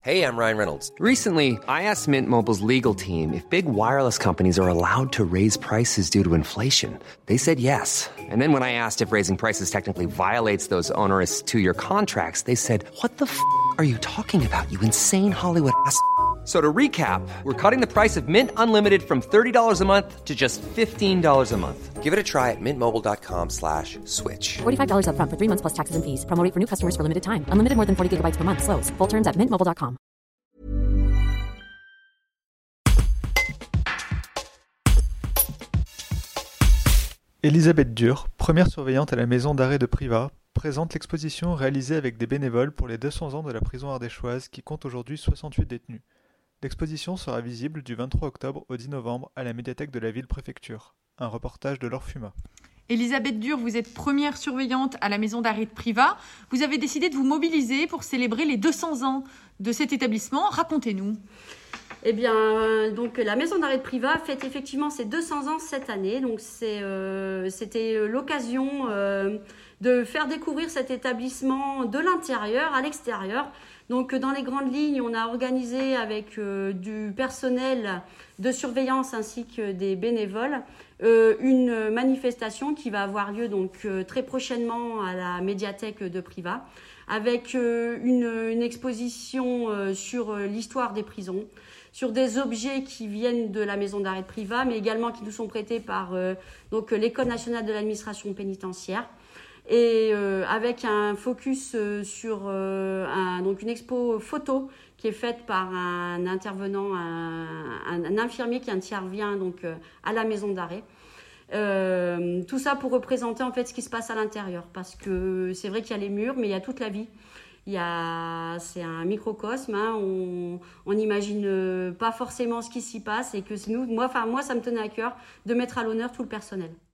Hey, I'm Ryan Reynolds. Recently, I asked Mint Mobile's legal team if big wireless companies are allowed to raise prices due to inflation. They said yes. And then when I asked if raising prices technically violates those onerous two-year contracts, they said, "What the f*** are you talking about, you insane Hollywood ass?" So to recap, we're cutting the price of Mint Unlimited from $30 a month to just $15 a month. Give it a try at mintmobile.com/switch. $45 up front for 3 months plus taxes and fees. Promo rate for new customers for limited time. Unlimited more than 40 gigabytes per month. Slows full terms at mintmobile.com. Elisabeth Dur, première surveillante à la maison d'arrêt de Privas, présente l'exposition réalisée avec des bénévoles pour les 200 ans de la prison ardéchoise qui compte aujourd'hui 68 détenus. L'exposition sera visible du 23 octobre au 10 novembre à la médiathèque de la ville-préfecture. Un reportage de Laure Fuma. Elisabeth Dur, vous êtes première surveillante à la maison d'arrêt de Privas. Vous avez décidé de vous mobiliser pour célébrer les 200 ans de cet établissement. Racontez-nous. Eh bien, donc la maison d'arrêt de Privas fête effectivement ses 200 ans cette année. Donc c'était l'occasion de faire découvrir cet établissement de l'intérieur à l'extérieur. Donc dans les grandes lignes, on a organisé avec du personnel de surveillance ainsi que des bénévoles une manifestation qui va avoir lieu donc très prochainement à la médiathèque de Privas avec une exposition sur l'histoire des prisons, sur des objets qui viennent de la maison d'arrêt de Privas, mais également qui nous sont prêtés par donc l'École nationale de l'administration pénitentiaire. Et avec un focus sur donc une expo photo qui est faite par un intervenant, un infirmier qui intervient donc à la maison d'arrêt. Tout ça pour représenter en fait ce qui se passe à l'intérieur, parce que c'est vrai qu'il y a les murs, mais il y a toute la vie. C'est un microcosme, hein, on n'imagine pas forcément ce qui s'y passe, et que moi ça me tenait à cœur de mettre à l'honneur tout le personnel.